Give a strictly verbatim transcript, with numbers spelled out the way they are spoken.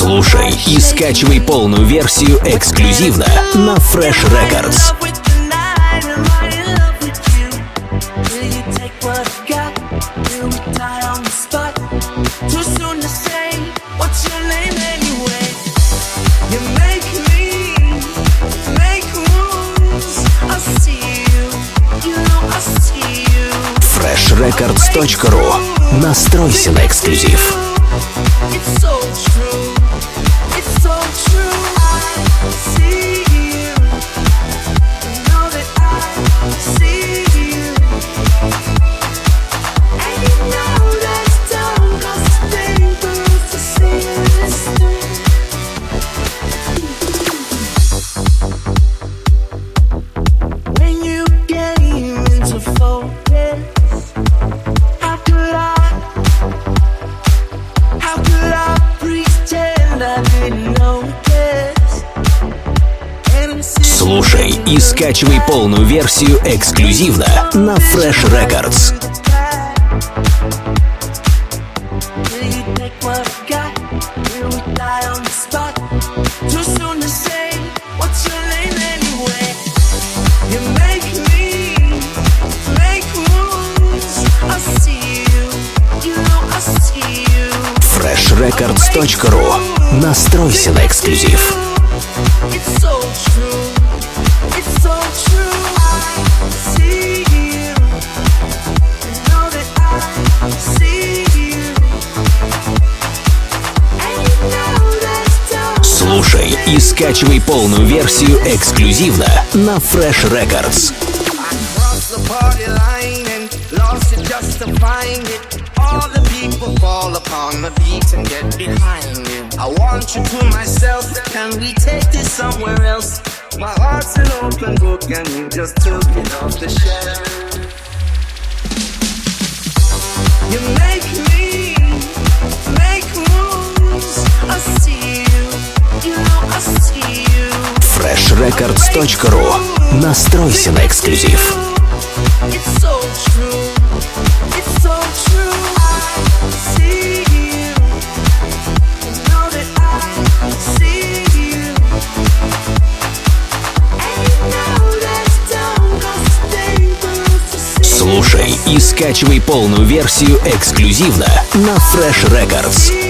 Слушай и скачивай полную версию эксклюзивно на Fresh Records. фреш рекордс точка ру. Настройся на эксклюзив. Слушай и скачивай полную версию эксклюзивно на Fresh Records. фреш рекордс точка ру. Настройся на эксклюзив. Слушай и скачивай полную версию эксклюзивно на Fresh Records. All the people fall upon the beat and get behind it. I want you to myself. Can we take this somewhere else? My heart's an open book and you just took it off the shelf. You make me make moves. I see you, you know I see you. фреш рекордс точка ру. Настройся на эксклюзив. It's so true. It's so true. I see you. You know that I see you. And you know that don't go stable to see. Слушай и скачивай полную версию эксклюзивно на Fresh Records.